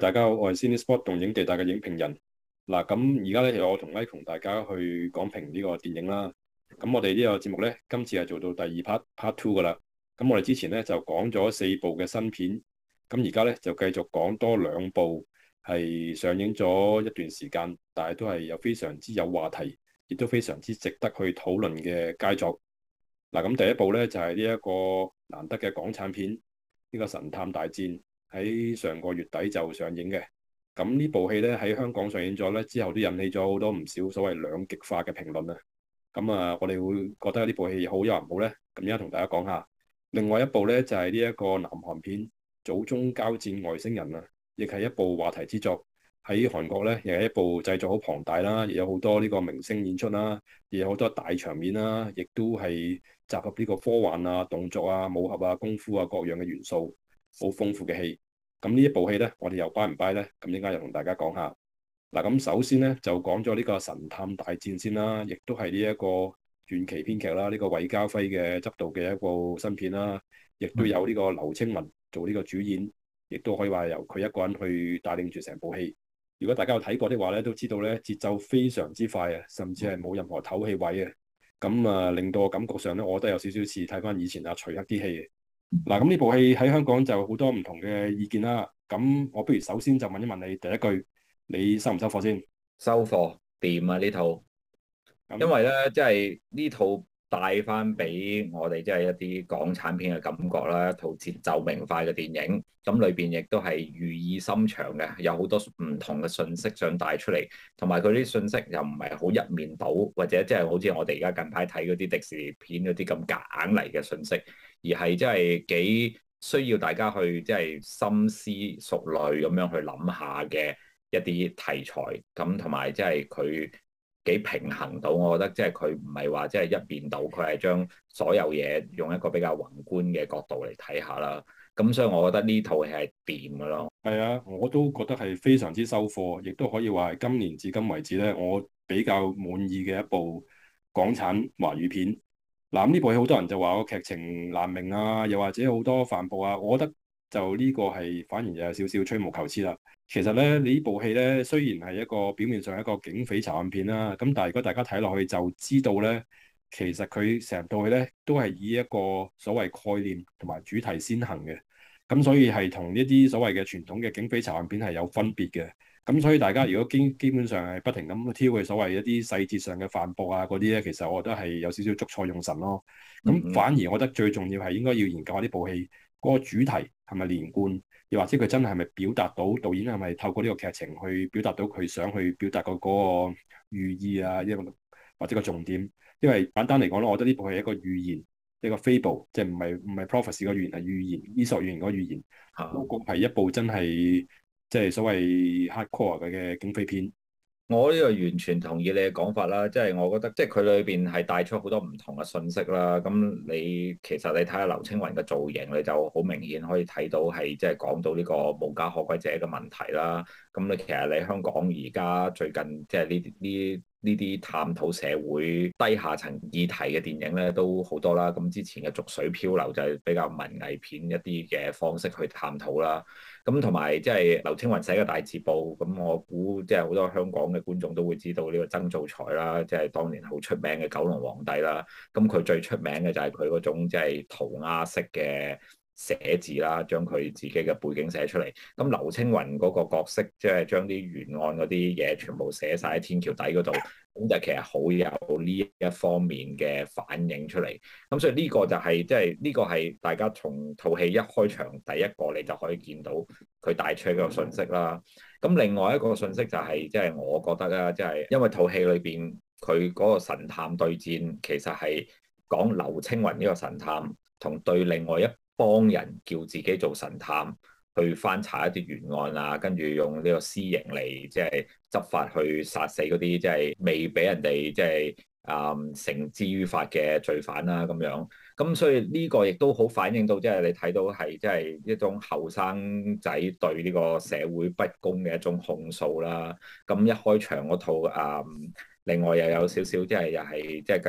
大家好，我係 Cinespot 動映地帶嘅影評人。嗱，咁而家咧，我同 Mike 同大家去講評呢個電影啦。咁我哋呢個節目咧，今次係做到第二 part two 噶啦。咁我哋之前咧就講咗4部嘅新片，咁而家咧就繼續講多2部係上映咗一段時間，但係都係有非常之有話題，亦都非常之值得去討論嘅佳作。嗱，咁第一部咧就係呢一個難得嘅港產片，呢個《神探大戰》。喺上個月底就上映嘅，咁呢部戲咧喺香港上映咗咧之後，都引起咗好多唔少所謂兩極化嘅評論啊。咁啊，我哋會覺得呢部戲好有人好咧，咁而家同大家講下。另外一部咧就係呢一個南韓片《祖宗交戰外星人》啊，亦係一部話題之作。喺韓國咧，亦係一部製作好龐大啦，亦有好多呢個明星演出啦，亦有好多大場面啦，亦都係集合呢個科幻啊、動作啊、武俠啊、功夫啊各樣嘅元素，好豐富嘅戲。咁呢一部戲咧，我哋又 buy 唔 buy 咧？咁應該又同大家講下。嗱，咁首先咧就講咗呢個神探大戰先啦，亦都係呢一個傳奇編劇啦，呢個韋家輝嘅執導嘅一部新片啦，亦都有呢個劉青雲做呢個主演，亦都可以話由佢一個人去帶領住成部戲。如果大家有睇過的話咧，都知道咧節奏非常之快啊，甚至係冇任何唞氣位嘅。咁啊，令到我感覺上咧，我覺得有少少似睇翻以前阿徐克啲戲。嗱，咁呢部戲喺香港就好多唔同嘅意見啦。咁我不如首先就問一問你第一句，你收唔收貨先？ 收貨掂啊呢套，因為咧即係呢套帶翻俾我哋即係一啲港產片嘅感覺啦，一套節奏明快嘅電影，咁裏邊亦都係寓意深長嘅，有好多唔同嘅信息想帶出嚟，同埋佢啲信息又唔係好一面倒，或者即係好似我哋而家近排睇嗰啲迪士尼片嗰啲咁夾硬嚟嘅信息，而係即係幾需要大家去即係深思熟慮咁樣去諗下嘅一啲題材，咁同埋即係佢幾平衡到，我覺得即係佢唔係話即係一面倒，佢係將所有嘢用一個比較宏觀嘅角度嚟睇下啦。咁所以我覺得呢套戲係掂㗎咯。 係啊，我都覺得係非常之收貨，亦都可以話係今年至今為止咧，我比較滿意嘅一部港產華語片。嗱，咁呢部戲好多人就話個劇情難明啊，又或者好多帆布啊，我覺得就呢個係反而有少少吹毛求疵啦。其實咧，你呢部戲咧雖然係一個表面上一個警匪查案片啦，咁但係如果大家睇落去就知道咧，其實佢成套戲咧都係以一個所謂概念同埋主題先行嘅，咁所以係同呢啲所謂嘅傳統嘅警匪查案片係有分別嘅。咁所以大家如果基本上係不停咁挑佢所謂一啲細節上嘅反駁啊嗰啲咧，其實我覺得係有少少捉錯用神咯。咁反而我覺得最重要係應該要研究下呢部戲嗰個主題係咪連貫，又或者佢真係咪表達到導演係咪透過呢個劇情去表達到佢想去表達嗰個寓意啊，或者個重點。因為簡單嚟講咧，我覺得呢部係一個寓言，一個 fable，即係唔係 prophecy 個寓言，係寓言，伊索寓言嗰個寓言。嗰個係一部真係即係所謂 hardcore 嘅警匪片。 我呢個完全同意你嘅講法啦，即係我覺得即係佢裏邊係帶出好多唔同嘅信息啦。咁你其實你睇下劉青雲嘅造型，你就好明顯可以睇到係即係講到呢個無家可歸者嘅問題啦。咁你其實你香港而家最近即係呢啲探討社會低下層議題嘅電影咧都好多啦。咁之前嘅《濁水漂流》就係比較文藝片一啲嘅方式去探討啦。咁同埋即係劉青雲寫嘅《大字報》，咁我估即係好多香港嘅觀眾都會知道呢個曾灶財啦，即係當年好出名嘅九龍皇帝啦。咁佢最出名嘅就係佢嗰種即係塗鴉式嘅寫字啦，將佢自己嘅背景寫出嚟。咁劉青雲嗰個角色，即係將啲懸案嗰啲嘢全部寫晒喺天橋底嗰度，咁就其實好有呢一方面嘅反映出嚟。咁所以呢個就係即係呢個係大家從套戲一開場第一個你就可以見到佢帶出一個信息啦。咁另外一個信息就係即係我覺得啦，即係因為套戲裏邊佢嗰個神探對戰，其實係講劉青雲呢個神探同對另外一幫人叫自己做神探去翻查一啲懸案啊，跟住用呢個私刑嚟即係執法去殺死嗰啲即係未俾人哋即係繩之於法嘅罪犯啦咁樣。咁所以呢個亦都好反映到即係你睇到係即係一種後生仔對呢個社會不公嘅一種控訴啦。咁一開場嗰套另外又有少少即係又係即係繼續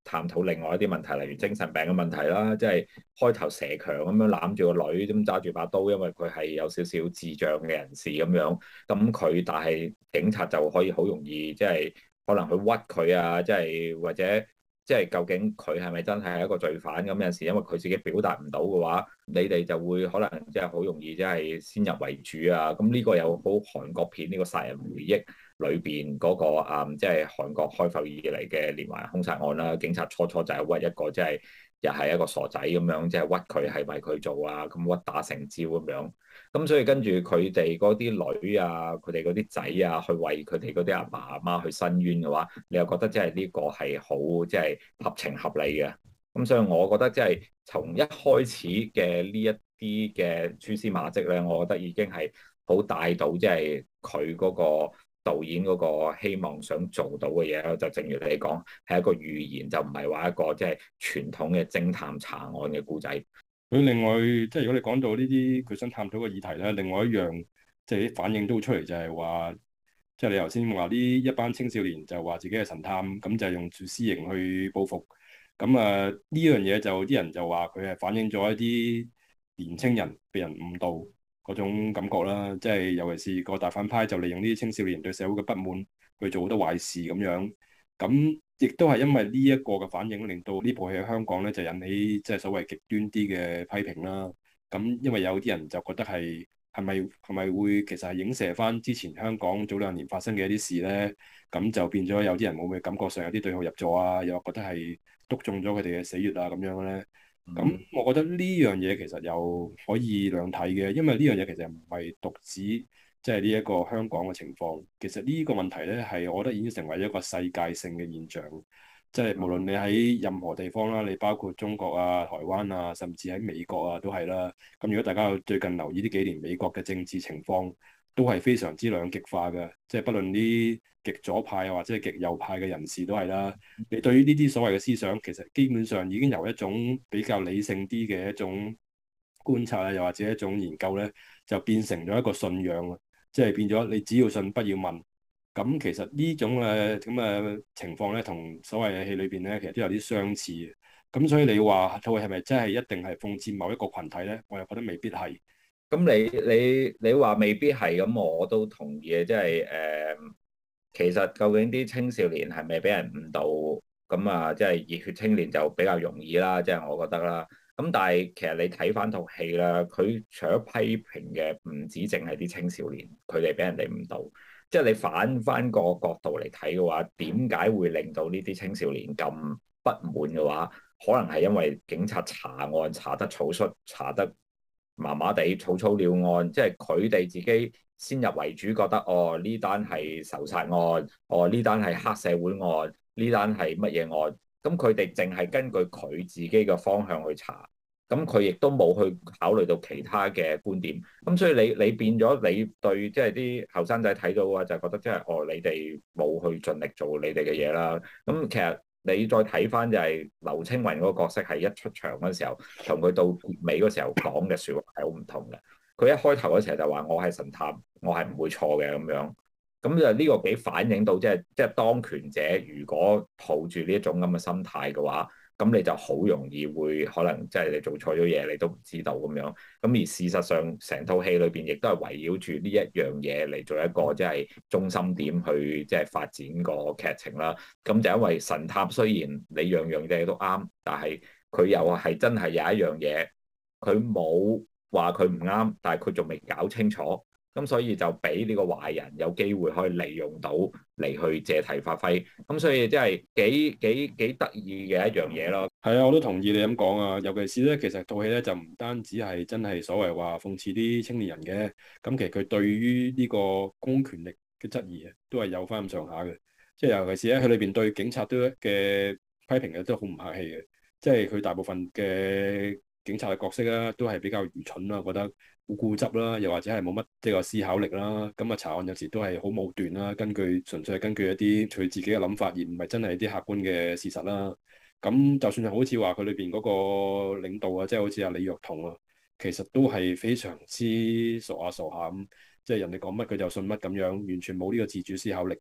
探討另外一啲問題，例如精神病嘅問題啦，即係開頭蛇強咁樣攬住個女，咁揸住把刀，因為佢係有少少智障嘅人士咁樣，但係警察就可以好容易即係可能去屈佢啊，即係或者即係究竟佢係咪真係一個罪犯咁？有陣時因為佢自己表達唔到嘅話，你哋就會可能即係好容易即係先入為主啊。咁呢個有好韓國片呢個殺人回憶裏邊嗰個即係韓國開埠以嚟嘅連環兇殺案啦。警察初初就係屈一個即係又係一個傻仔咁樣，即係屈佢係咪佢做啊？咁屈打成招咁樣。咁所以跟住佢哋嗰啲女啊，佢哋嗰啲仔啊，去為佢哋嗰啲阿爸阿媽去申冤嘅話，你又覺得即係呢個係好即係合情合理嘅。咁所以我覺得即係從一開始嘅呢一啲嘅蛛絲馬跡咧，我覺得已經係好帶到即係佢嗰個導演嗰個希望想做到嘅嘢咯。就正如你講，係一個寓言，就唔係話一個即係傳統嘅偵探查案嘅故仔。 佢另外即係如果你講到呢啲佢想探討嘅議題咧，另外一樣即係啲反應都出嚟，就係話，即係你頭先話呢一班青少年就話自己係神探，咁就用住私刑去報復。咁啊呢樣嘢就啲人就話佢係反映咗一啲年青人被人誤導嗰種感覺啦，即係尤其是個大反派就利用呢啲青少年對社會嘅不滿去做好多壞事咁樣。咁亦都係因為呢一個嘅反應，令到呢部戲喺香港咧就引起即係所謂極端啲嘅批評啦。咁因為有啲人就覺得係咪會其實係影射翻之前香港早2年發生嘅一啲事咧？咁就變咗有啲人會唔會感覺上有啲對號入座啊？又覺得係篤中咗佢哋嘅死穴啊咁樣咧？咁我覺得呢樣嘢其實又可以兩睇嘅，因為呢樣嘢其實唔係獨指即係呢一個香港嘅情況。其實呢個問題咧係我覺得已經成為一個世界性嘅現象，即係無論你喺任何地方啦，你包括中國啊、台灣啊，甚至喺美國啊都係啦。咁如果大家有最近留意呢幾年美國嘅政治情況，都係非常之兩極化嘅，即係不論啲極左派或者係極右派嘅人士都係啦。你對於呢啲所謂嘅思想，其實基本上已經由一種比較理性啲嘅一種觀察啊，又或者一種研究咧，就變成咗一個信仰啊，即係變咗你只要信不要問。咁其實呢種咁嘅情況咧，同所謂嘅戲裏邊咧，其實都有啲相似嘅。咁所以你話套戲係咪真係一定係諷刺某一個群體咧？我又覺得未必係。 咁你話未必係咁，我都同意嘅，即係其實究竟啲青少年係咪俾人誤導？咁啊，即係熱血青年就比較容易啦，即係我覺得啦。咁但係其實你睇翻套戲啦，佢除咗批評嘅唔止淨係啲青少年，佢哋俾人哋誤導。即係你反翻個角度嚟睇嘅話，點解會令到呢啲青少年咁不滿嘅話？可能係因為警察查案查得草率，查得麻麻地，草草了案，即係佢哋自己先入為主，覺得哦呢單係仇殺案，哦呢單係黑社會案，呢單係乜嘢案？咁佢哋淨係根據佢自己嘅方向去查，咁佢亦都冇去考慮到其他嘅觀點。咁所以你變咗你對即係啲後生仔睇到嘅話，就覺得即係哦你哋冇去盡力做你哋嘅嘢啦。咁其實。你再睇翻就係劉青雲嗰個角色係一出場嗰時候，同佢到尾嗰時候講嘅説話係好唔同嘅。佢一開頭嗰時候就話我係神探，我係唔會錯嘅咁樣。咁就呢個幾反映到即係當權者如果抱住呢一種咁嘅心態嘅話，咁你就好容易會可能即係你做錯咗嘢，你都唔知道咁樣。咁而事實上，成套戲裏邊亦都係圍繞住呢一樣嘢嚟做一個即係中心點去即係發展個劇情啦。咁就因為神探雖然你樣樣嘢都啱，但係佢又係真係有一樣嘢，佢冇話佢唔啱，但係佢仲未搞清楚。咁所以就俾呢個壞人有機會可以利用到嚟去借題發揮，咁所以即係幾得意嘅一樣嘢咯。 係啊，我都同意你咁講啊。尤其是咧，其實套戲咧就唔單止係真係所謂話諷刺啲青年人嘅，咁其實佢對於呢個公權力嘅質疑啊，都係有翻咁上下嘅。即係尤其是咧，佢裏邊對警察都嘅批評嘅都好唔客氣嘅。即係佢大部分嘅警察嘅角色啊，都係比較愚蠢啦，我覺得。好固執啦，又或者係冇乜即係個思考力啦。咁啊，查案有時都係好武斷啦，純粹係根據一啲佢自己嘅諗法，而唔係真係啲客觀嘅事實啦。咁就算係好似話佢裏邊嗰個領導啊，即係好似阿李若彤啊，其實都係非常之傻下傻下咁，即係人哋講乜佢就信乜咁樣，完全冇呢個自主思考力。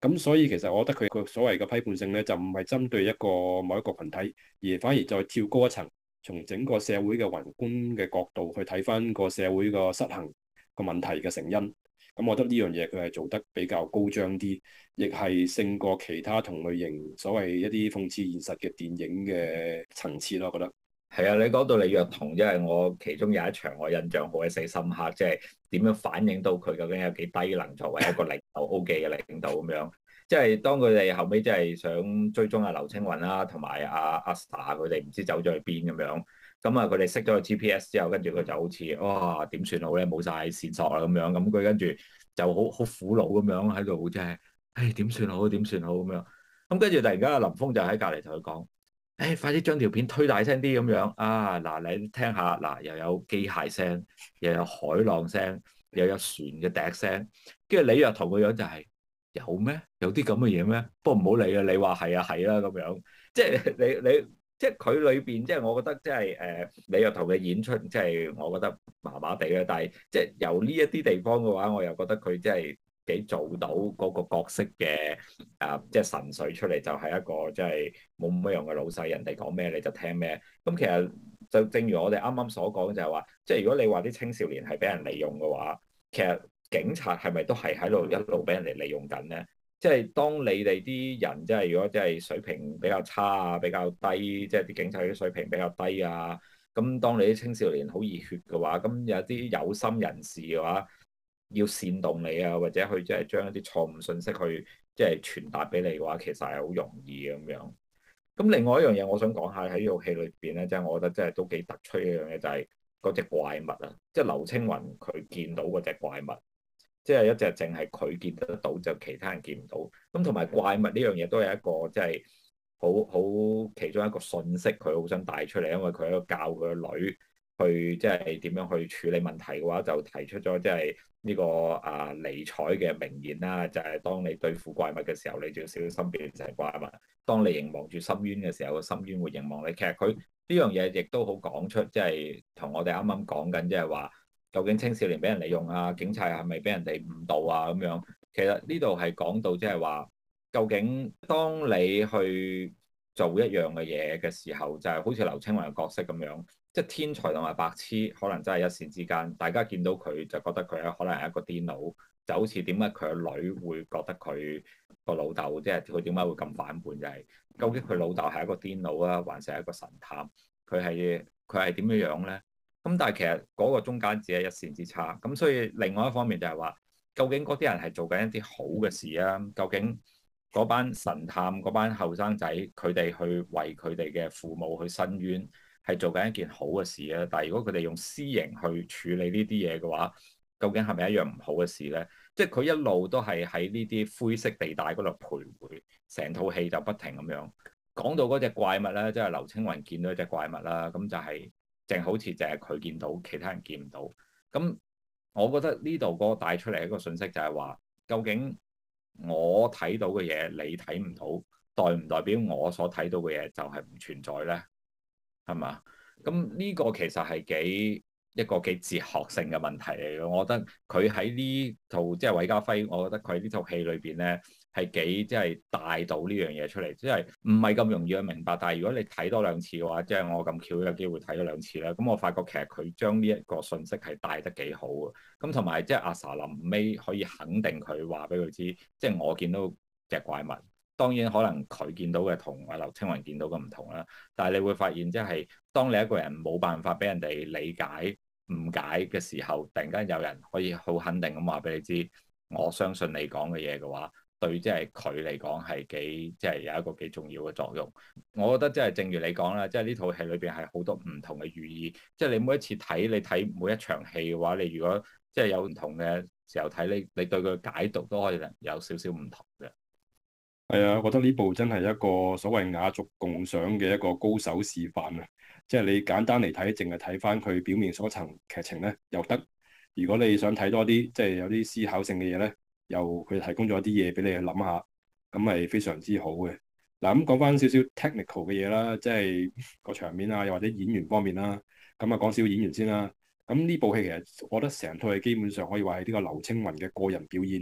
咁所以其實我覺得佢個所謂嘅批判性咧，就唔係針對某一個群體，而反而再跳高一層，從整個社會嘅宏觀嘅角度去睇翻個社會個失衡個問題嘅成因。咁我覺得呢樣嘢佢係做得比較高張啲，亦係勝過其他同類型所謂一啲諷刺現實嘅電影嘅層次咯。我覺得係啊，你講到李若彤，因為我其中有一場我印象好鬼死深刻，即係點樣反映到佢究竟有幾低能，作為一個領導 O 記嘅領導咁樣。即係當佢哋後尾即係想追蹤阿劉青雲啦，同埋阿 Sa 佢哋唔知走咗去邊咁樣。咁啊，佢哋熄咗個 GPS 之後，跟住佢就好似哇點算好咧，冇晒線索啦咁樣。咁佢跟住就好苦惱咁樣喺度，即係唉點算好點算好咁樣。咁跟住突然間阿林峰就喺隔離同佢講。誒，快啲將條片推大聲啲咁樣啊！嗱，你聽下，嗱，又有機械聲，又有海浪聲，又有船嘅笛聲，跟住李若彤個樣就係有咩？有啲咁嘅嘢咩？不過唔好理啦，你話係啊係啦咁樣，即係你即係佢裏邊，即係我覺得即係李若彤嘅演出，即係我覺得麻麻地啦。但係即係由呢一啲地方嘅話，我又覺得佢即係幾做到嗰個角色嘅即係神髓出嚟，就係一個即係冇乜用嘅老細，人哋講咩你就聽咩。咁其實就正如我哋啱啱所講，就係話，即係如果你話啲青少年係俾人利用嘅話，其實警察係咪都係喺度一路俾人哋利用緊咧？即係當你哋啲人即係如果即係水平比較差啊、比較低，即係啲警察啲水平比較低啊，咁當你啲青少年好熱血嘅話，咁有啲有心人士嘅話，要煽動你啊，或者去即係將一啲錯誤信息去即係傳達俾你嘅話，其實係好容易嘅咁樣。咁另外一樣嘢，我想講下喺呢套戲裏邊咧，即係我覺得即係都幾突出一樣嘢，就係嗰隻怪物啊，即係劉青雲佢見到嗰隻怪物，即係一隻淨係佢見得到，就其他人見唔到。咁同埋怪物呢樣嘢都係一個即係好其中一個信息，佢好想帶出嚟，因為佢喺度教佢個女去即係點樣去處理問題嘅話，就提出咗即係呢個尼采嘅名言啦，就係當你對付怪物嘅時候，你就要小心變成怪物；當你凝望住深淵嘅時候，個深淵會凝望你。其實佢呢樣嘢亦都好講出，即係同我哋啱啱講緊，即係話究竟青少年俾人利用啊，警察係咪俾人哋誤導啊咁樣。其實呢度係講到即係話，究竟當你去做一樣嘅嘢嘅時候，就係好似劉青雲嘅角色咁樣。即係天才同埋白痴，可能真係一線之間。大家見到佢就覺得佢可能係一個癲佬，就好似點解佢個女會覺得佢個老豆，即係佢點解會咁反叛？就係究竟佢老豆係一個癲佬啊，還是係一個神探？佢係點樣樣咧？咁但係其實嗰個中間只係一線之差。咁所以另外一方面就係話，究竟嗰啲人係做緊一啲好嘅事啊？究竟嗰班神探、嗰班後生仔，佢哋去為佢哋嘅父母去申冤，係做緊一件好嘅事啊！但係如果佢哋用私刑去處理呢啲嘢嘅話，究竟係咪一樣唔好嘅事咧？即係佢一路都係喺呢啲灰色地帶嗰度徘徊，成套戲就不停咁樣講到嗰隻怪物咧，即係劉青雲見到一隻怪物啦，咁就係淨好似淨係佢見到，其他人見唔到。咁我覺得呢度嗰個帶出嚟一個信息就係話，究竟我睇到嘅嘢你睇唔到，代唔代表我所睇到嘅嘢就係唔存在咧？係嘛？咁呢個其實係一個幾哲學性嘅問題嚟嘅。我覺得佢喺呢套即係韋家輝，我覺得佢喺呢套戲裏邊咧係幾即係帶到呢樣嘢出嚟，即係唔係咁容易去明白。但係如果你睇多兩次嘅話，即係我咁巧有機會睇咗兩次啦。咁我發覺其實佢將呢一個信息係帶得幾好嘅。咁同埋即係阿 Sa 臨尾可以肯定佢話俾佢知，即係我見到隻怪物。當然可能佢見到嘅同阿劉青雲見到嘅唔同啦，但係你會發現即係當你一個人冇辦法俾人哋理解誤解嘅時候，突然間有人可以好肯定咁話俾你知，我相信你講嘅嘢嘅話，對即係佢嚟講係幾即係有一個幾重要嘅作用。我覺得即係正如你講啦，即係呢套戲裏邊係好多唔同嘅寓意，即係你每一次睇你睇每一場戲嘅話，你如果即係有唔同嘅時候睇，你對佢解讀都可以有少少唔同嘅。 係啊，我覺得呢部真係一個所謂雅俗共賞嘅一個高手示範啊！即係你簡單嚟睇，淨係睇翻佢表面嗰層劇情咧，又得。如果你想睇多啲，即係有啲思考性嘅嘢咧，又佢提供咗啲嘢俾你去諗下，咁係非常之好嘅。嗱，咁講翻少少 technical 嘅嘢啦，即係個場面啊，又或者演員方面啦，咁啊講少演員先啦。咁呢部戲其實我覺得成套戲基本上可以話係呢個劉青雲嘅個人表演。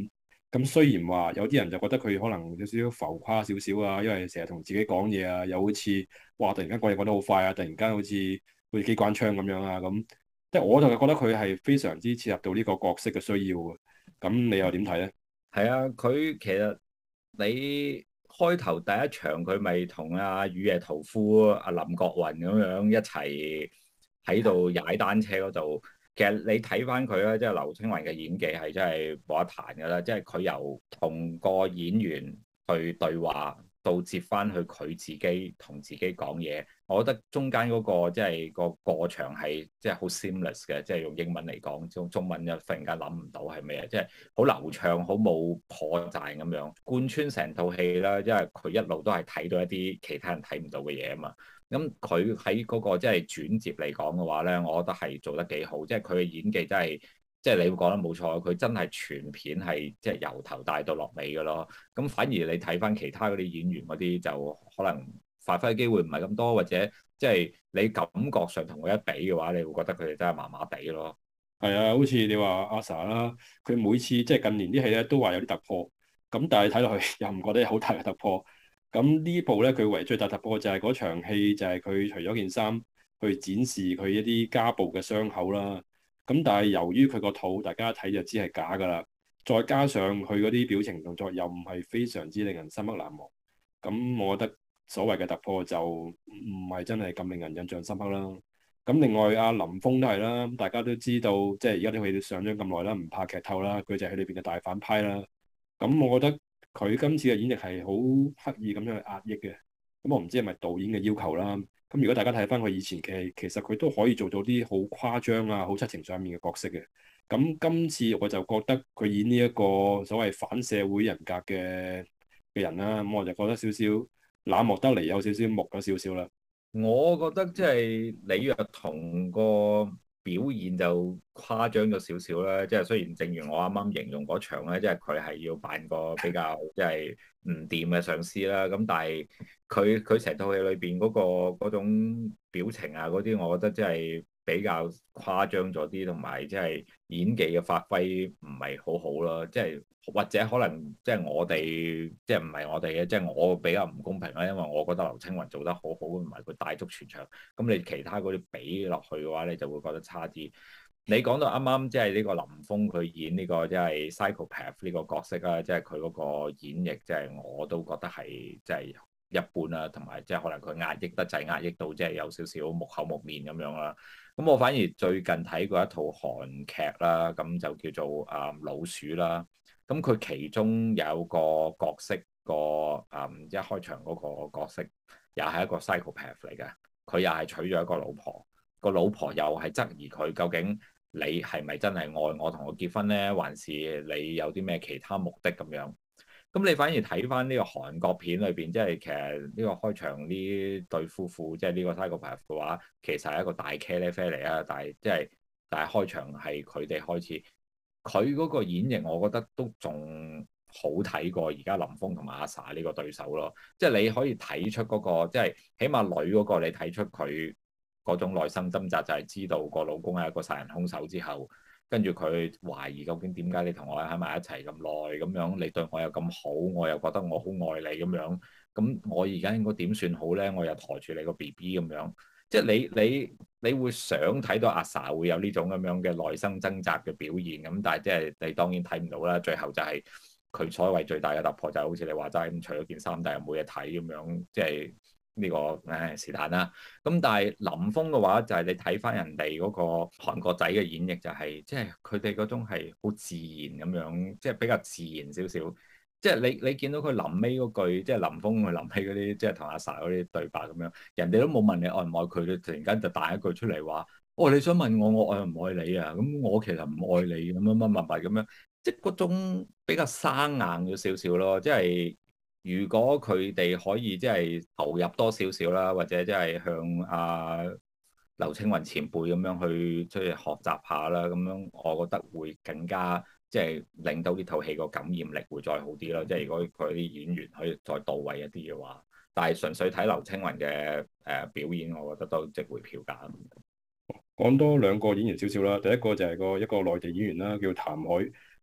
咁雖然話有啲人就覺得佢可能有少少浮誇少少啊，因為成日同自己講嘢啊，又好似哇突然間講嘢講得好快啊，突然間好似機關槍咁樣啊咁，即係我就覺得佢係非常之切合到呢個角色嘅需要嘅。咁你又點睇咧？ 係啊，佢其實你開頭第一場佢咪同阿雨夜屠夫、阿林國雲咁樣一齊喺度踩單車嗰度。其實你睇翻佢咧，即係劉青雲嘅演技係真係冇得彈㗎啦。即係佢由同個演員去對話，到接翻去佢自己同自己講嘢，我覺得中間嗰個即係個過場係即係好 seamless 嘅，即係用英文嚟講，中文就忽然間諗唔到係咩，即係好流暢，好冇破綻咁樣貫穿成套戲啦。因為佢一路都係睇到一啲其他人睇唔到嘅嘢啊嘛。咁佢喺嗰個即係轉接嚟講嘅話咧，我覺得係做得幾好，即係佢嘅演技真係。即係你會講得冇錯，佢真係全片係即係由頭帶到落尾嘅咯。咁反而你睇翻其他嗰啲演員嗰啲，就可能發揮機會唔係咁多，或者即係你感覺上同佢一比嘅話，你會覺得佢哋真係麻麻地咯。 係啊，好似你話阿 Sa 啦，佢每次即係近年啲戲咧都話有啲突破，咁但係睇落去又唔覺得有好大嘅突破。咁呢部咧佢唯最大突破就係嗰場戲，就係佢除咗件衫去展示佢一啲家暴嘅傷口啦。咁但係由於佢個肚，大家一睇就知係假㗎啦。再加上佢嗰啲表情動作又唔係非常之令人深刻難忘。咁我覺得所謂嘅突破就唔係真係咁令人印象深刻啦。咁另外阿林峰都係啦，大家都知道即係而家啲戲都上咗咁耐啦，唔怕劇透啦，佢就係裏邊嘅大反派啦。咁我覺得佢今次嘅演繹係好刻意咁樣去壓抑嘅。咁我唔知係咪導演嘅要求啦。咁如果大家睇翻佢以前嘅戲，其實佢都可以做到啲好誇張啊、好七情上面嘅角色嘅。咁今次我就覺得佢演呢一個所謂反社會人格嘅人啦，咁我就覺得少少冷漠得嚟，有少少木咗少少啦。 我覺得即係李若彤個表現就誇張咗少少啦，即係雖然正如我啱啱形容嗰場咧，即係佢係要扮個比較即係唔掂嘅上司啦，咁但係佢成套戲裏邊嗰種表情啊嗰啲，我覺得即係比較誇張咗啲，同埋即係演技嘅發揮唔係好好咯，即係或者可能即係我哋即係唔係我哋嘅，即係我比較唔公平啦，因為我覺得劉青雲做得好好，同埋佢帶足全場，咁你其他嗰啲比落去嘅話，你就會覺得差啲。你講到啱啱即係呢個林峰佢演呢個即係 psychopath 呢個角色啦，即係佢嗰個演繹，即係我都覺得係即係一般啦，同埋即係可能佢壓抑得滯，壓抑到即係有少少木口木面咁樣啦。咁我反而最近睇過一套韓劇啦，咁就叫做老鼠啦。咁佢其中有個角色一開場嗰個角色，又係一個 psychopath 嚟嘅。佢又係娶咗一個老婆，個老婆又係質疑佢究竟你係咪真係愛我同我結婚呢？還是你有啲咩其他目的咁樣？咁你反而睇翻呢個韓國片裏邊，即係其實呢個開場呢對夫婦，即係呢個 psychopath 嘅話，其實係一個大茄喱啡嚟啊！但係開場係佢哋開始，佢嗰個演繹，我覺得都仲好睇過而家林峰同埋阿 Sa 呢個對手咯。即係你可以睇出嗰個，即係起碼女嗰個，你睇出佢嗰種內心掙扎，就係知道個老公係一個殺人兇手之後。跟住佢懷疑究竟點解你同我喺埋一齊咁耐咁樣，你對我又咁好，我又覺得我好愛你咁樣，咁我而家應該點算好呢？我又抬住你個 BB 咁樣，即係你會想睇到阿 Sa 會有呢種咁樣嘅內心掙扎嘅表現，咁但係即係你當然睇唔到啦。最後就係佢所謂最大嘅突破就係好似你話齋咁，除咗件衫，但係冇嘢睇咁樣，即係。呢個誒是但啦，咁但係林峰嘅話就係你睇翻人哋嗰個韓國仔嘅演繹，就係即係佢哋嗰種係好自然咁樣，即係比較自然少少。即係你見到佢臨尾嗰句，即係林峰佢臨尾嗰啲，即係同阿 Sa 嗰啲對白咁樣，人哋都冇問你愛唔愛佢，佢突然間就彈一句出嚟話：哦，你想問我愛唔愛你啊？咁我其實唔愛你咁樣乜乜乜咁樣，即係嗰種比較生硬咗少少咯，即係。如果佢哋可以即係投入多少少啦，或者即係向劉青雲前輩咁樣去即係學習下啦，咁樣我覺得會更加即係令到呢套戲個感染力會再好啲咯。即係如果佢啲演員可以再到位一啲嘅話，但係純粹睇劉青雲嘅表演，我覺得都值回票價。 講多兩個演員少少啦，第一個就係一個內地演員啦，叫譚凱。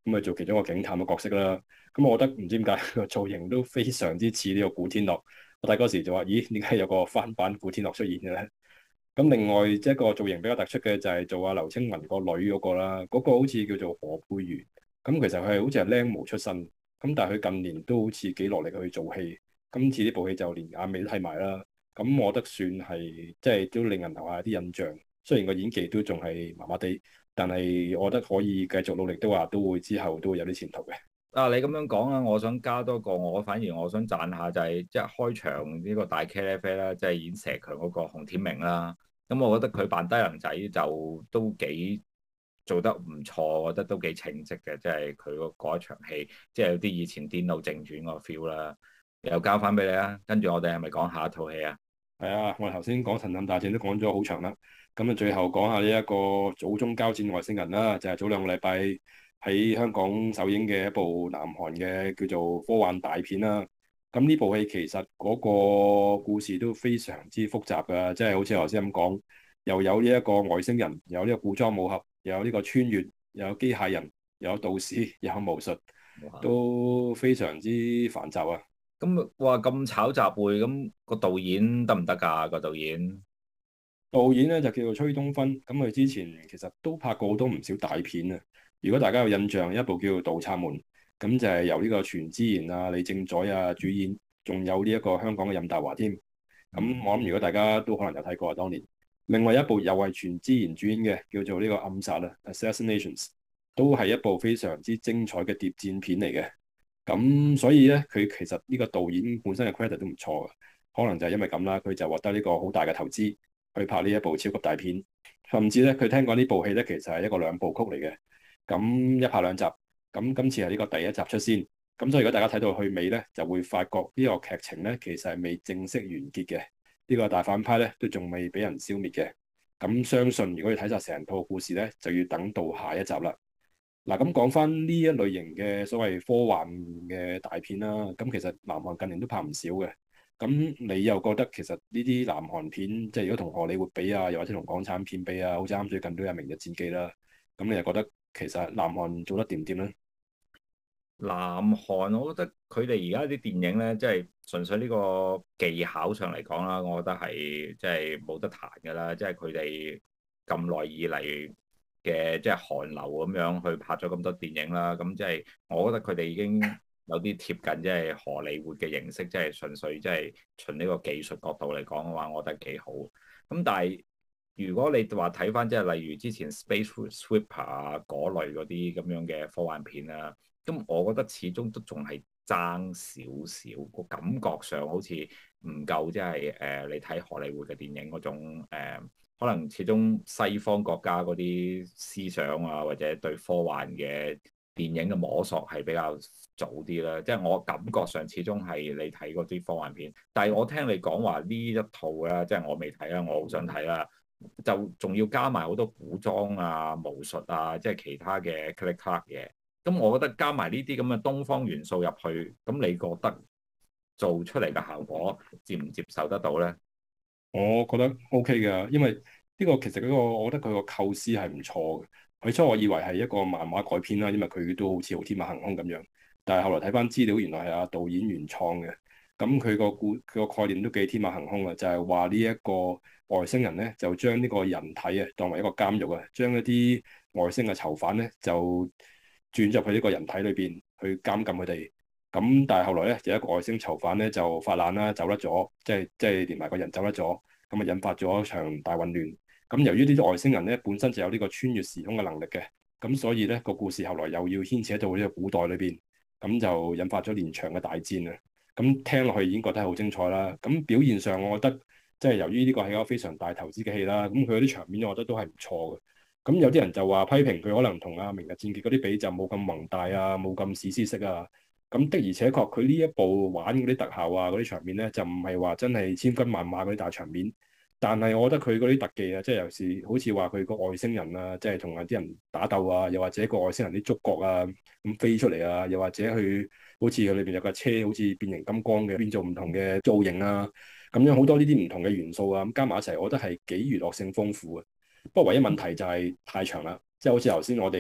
咁啊做其中一個警探嘅角色啦。咁我覺得唔知點解個造型都非常之似呢個古天樂。我睇嗰時就話：咦，點解有個翻版古天樂出現嘅咧？咁另外即係一個造型比較突出嘅就係做阿劉青雲個女嗰個啦，嗰個好似叫做何佩瑜。咁其實佢係好似係靚模出身，咁但係佢近年都好似幾落力去做戲。今次呢部戲就連眼尾都睇埋啦。咁我覺得算係即係都令人留下啲印象。雖然個演技都仲係麻麻地，但係我覺得可以繼續努力，都話都會之後都會有啲前途嘅。 啊，你咁樣講啊，我想加多個，我反而我想讚下就係即係開場呢個大茄喱啡啦，即係演蛇強嗰個洪天明啦。咁我覺得佢扮低能仔就都幾做得唔錯，我覺得都幾稱職嘅，即係佢嗰一場戲，即係有啲以前《癲佬正傳》個 feel 啦。又交翻俾你啊，跟住我哋係咪講下一套戲啊？ 係啊，我哋頭先講《神探大戰》都講咗好長啦，咁啊最後講下呢一個祖宗交戰外星人啦，就係早兩個禮拜喺香港首映嘅一部南韓嘅叫做科幻大片啦。咁呢部戲其實嗰個故事都非常之複雜㗎，即係好似頭先咁講，又有呢一個外星人，又有呢個古裝武俠，又有呢個穿越，又有機械人，又有道士，又有巫術，都非常之繁雜啊！ 咁話咁炒雜燴，咁個導演得唔得㗎？個導演咧就叫做崔東勳，咁佢之前其實都拍過好多唔少大片啊。如果大家有印象，一部叫做《盜賊門》，咁就係由呢個全智賢啊、李正宰啊主演，仲有呢一個香港嘅任達華添。咁我諗如果大家都可能有睇過啊，當年。另外一部又係全智賢主演嘅，叫做呢個暗殺啊，Assassinations，都係一部非常之精彩嘅諜戰片嚟嘅。咁所以咧，佢其實呢個導演本身嘅 credit 都唔錯嘅，可能就係因為咁啦，佢就獲得呢個好大嘅投資去拍呢一部超級大片。甚至咧，佢聽講呢部戲咧其實係一個兩部曲嚟嘅，咁一拍兩集。咁今次係呢個第一集出先，咁所以如果大家睇到去尾咧，就會發覺呢個劇情咧其實係未正式完結嘅，呢個大反派咧都仲未俾人消滅嘅。咁相信如果要睇晒成套故事咧，就要等到下一集啦。嗱，咁講翻呢一類型嘅所謂科幻嘅大片啦，咁其實南韓近年都拍唔少嘅。咁你又覺得其實呢啲南韓片，即係如果同荷里活比啊，又或者同港產片比啊，好似啱最近都有《明日戰記》啦。咁你又覺得其實南韓做得掂唔掂咧？ 南韓，我覺得佢哋而家啲電影咧，即係純粹呢個技巧上嚟講啦，我覺得係即係冇得彈㗎啦。即係佢哋咁耐以嚟嘅即係韓流咁樣去拍咗咁多電影啦，咁即係我覺得佢哋已經有啲貼近即係荷里活嘅形式，即係純粹即係從呢個技術角度嚟講嘅話，我覺得幾好。咁但係如果你話睇翻即係例如之前 Space Sweeper 啊嗰類嗰啲咁樣嘅科幻片啊。咁我覺得始終都仲係爭少少，個感覺上好似唔夠，即係你睇荷里活嘅電影嗰種可能始終西方國家嗰啲思想啊，或者對科幻嘅電影嘅摸索係比較早啲啦。即係我感覺上始終係你睇嗰啲科幻片，但係我聽你講話呢一套啦，即係我未睇啦，我好想睇啦，就仲要加埋好多古裝啊、巫術啊，即係其他嘅 click clack 嘢。咁我覺得加埋呢啲咁嘅東方元素入去，咁你覺得做出嚟嘅效果接唔接受得到咧？ 我覺得 OK 㗎，因為呢個其實嗰個我覺得佢個構思係唔錯嘅。起初我以為係一個漫畫改編啦，因為佢都好似好天馬行空咁樣。但係後來睇翻資料，原來係阿導演原創嘅。咁佢個概念都幾天馬行空啊，就係話呢一個外星人咧，就將呢個人體啊當為一個監獄啊，將一啲外星嘅囚犯咧就轉入去呢個人體裏邊去監禁佢哋。咁但係後來咧，有一個外星囚犯咧就發難啦，走甩咗，即係連埋個人走甩咗，咁啊引發咗一場大混亂。咁由於呢啲外星人咧本身就有呢個穿越時空嘅能力嘅，咁所以咧個故事後來又要牽扯到呢個古代裏邊，咁就引發咗連場嘅大戰啊！咁聽落去已經覺得係好精彩啦。咁表現上我覺得即係由於呢個係一個非常大投資嘅戲啦，咁佢嗰啲場面我覺得都係唔錯嘅。咁有啲人就話批評佢可能同《明日戰記》嗰啲比就冇咁宏大啊，冇咁史詩式啊。咁的而且確，佢呢一部玩嗰啲特效啊，嗰啲場面咧，就唔係話真係千軍萬馬嗰啲大場面。但係我覺得佢嗰啲特技啊，即係有時好似話佢個外星人啊，即係同啲人打鬥啊，又或者個外星人啲觸角啊咁飛出嚟啊，又或者佢好似佢裏邊有架車，好似變形金剛嘅變做唔同嘅造型啊，咁樣好多呢啲唔同嘅元素啊，咁加埋一齊，我覺得係幾娛樂性豐富嘅。不過唯一問題就係太長啦，即係好似頭先我哋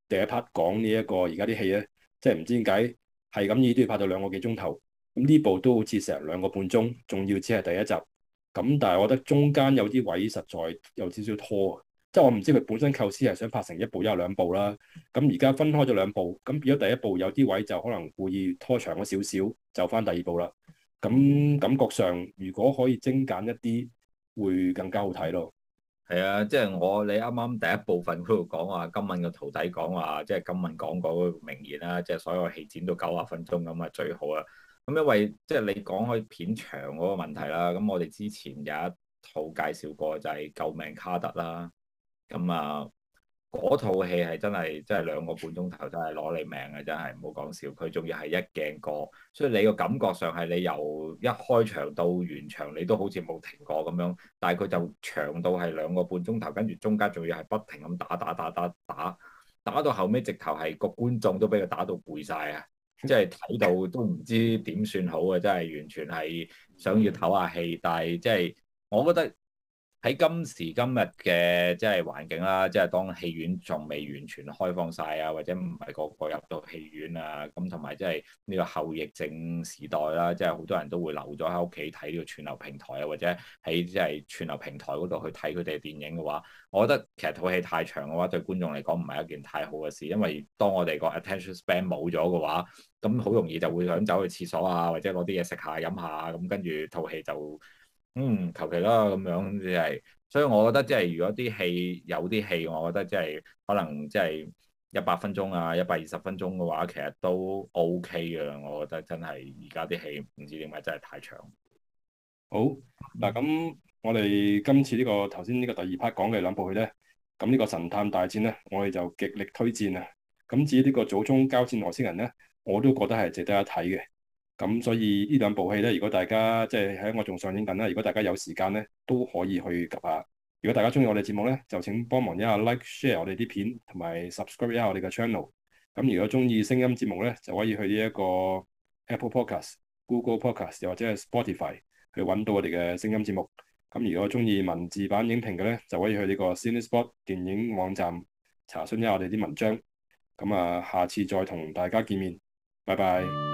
第一 part 講呢一個而家啲戲咧，即係唔知點解係咁意都要拍到2個幾鐘頭。咁呢部都好似成2個半鐘，仲要只係第一集。咁但係我覺得中間有啲位實在有少少拖，即係我唔知佢本身構思係想拍成一部一係兩部啦。咁而家分開咗兩部，咁變咗第一部有啲位就可能故意拖長咗少少，就翻第二部啦。咁感覺上如果可以精簡一啲，會更加好睇咯。 係啊，即係你啱啱第一部分嗰度講話今敏嘅徒弟講話，即係今敏講嗰個名言啦，即係所有戲剪到90分鐘咁啊最好啦。咁因為即係你講開片長嗰個問題啦，咁我哋之前有一套介紹過就係救命卡特啦，咁啊。嗰套戲係真係2個半鐘頭，真係攞你命嘅，真係唔好講笑。佢仲要係一鏡過，所以你個感覺上係你由一開場到完場，你都好似冇停過咁樣。但係佢就長到係2個半鐘頭，跟住中間仲要係不停咁打到後尾，直頭係個觀眾都俾佢打到攰晒啊！即係睇到都唔知點算好啊！真係完全係想要唞下氣，但係即係我覺得。喺今時今日嘅即係環境啦，即係當戲院仲未完全開放晒啊，或者唔係個個入到戲院啊，咁同埋即係呢個後疫症時代啦，即係好多人都會留咗喺屋企睇呢個串流平台啊，或者喺即係串流平台嗰度去睇佢哋嘅電影嘅話，我覺得其實套戲太長嘅話，對觀眾嚟講唔係一件太好嘅事，因為當我哋個 attention span 冇咗嘅話，咁好容易就會想走去廁所啊，或者攞啲嘢食下飲下，咁跟住套戲就。求其啦咁樣，即係，所以我覺得即係如果有啲戲，我覺得即係可能即係100分鐘啊、120分鐘嘅話，其實都 OK 嘅啦。我覺得真係而家啲戲唔知點解真係太長。 好嗱，咁我哋今次呢個頭先呢個第二 part 講嘅兩部戲咧，咁呢個神探大戰咧，我哋就極力推薦啊。咁至於呢個祖宗交戰外星人咧，我都覺得係值得一睇嘅。咁所以呢兩部戲咧，如果大家即係喺我仲上映緊啦，如果大家有時間咧，都可以去及下。如果大家中意我哋節目咧，就請幫忙一下 like、share 我哋啲片，同埋 subscribe 一下我哋嘅 channel。咁如果中意聲音節目咧，就可以去呢一個 Apple Podcast、Google Podcast 又或者係 Spotify 去揾到我哋嘅聲音節目。咁如果中意文字版影評嘅咧，就可以去呢個 Cinespot 電影網站查詢一下我哋啲文章。咁啊，下次再同大家見面，拜拜。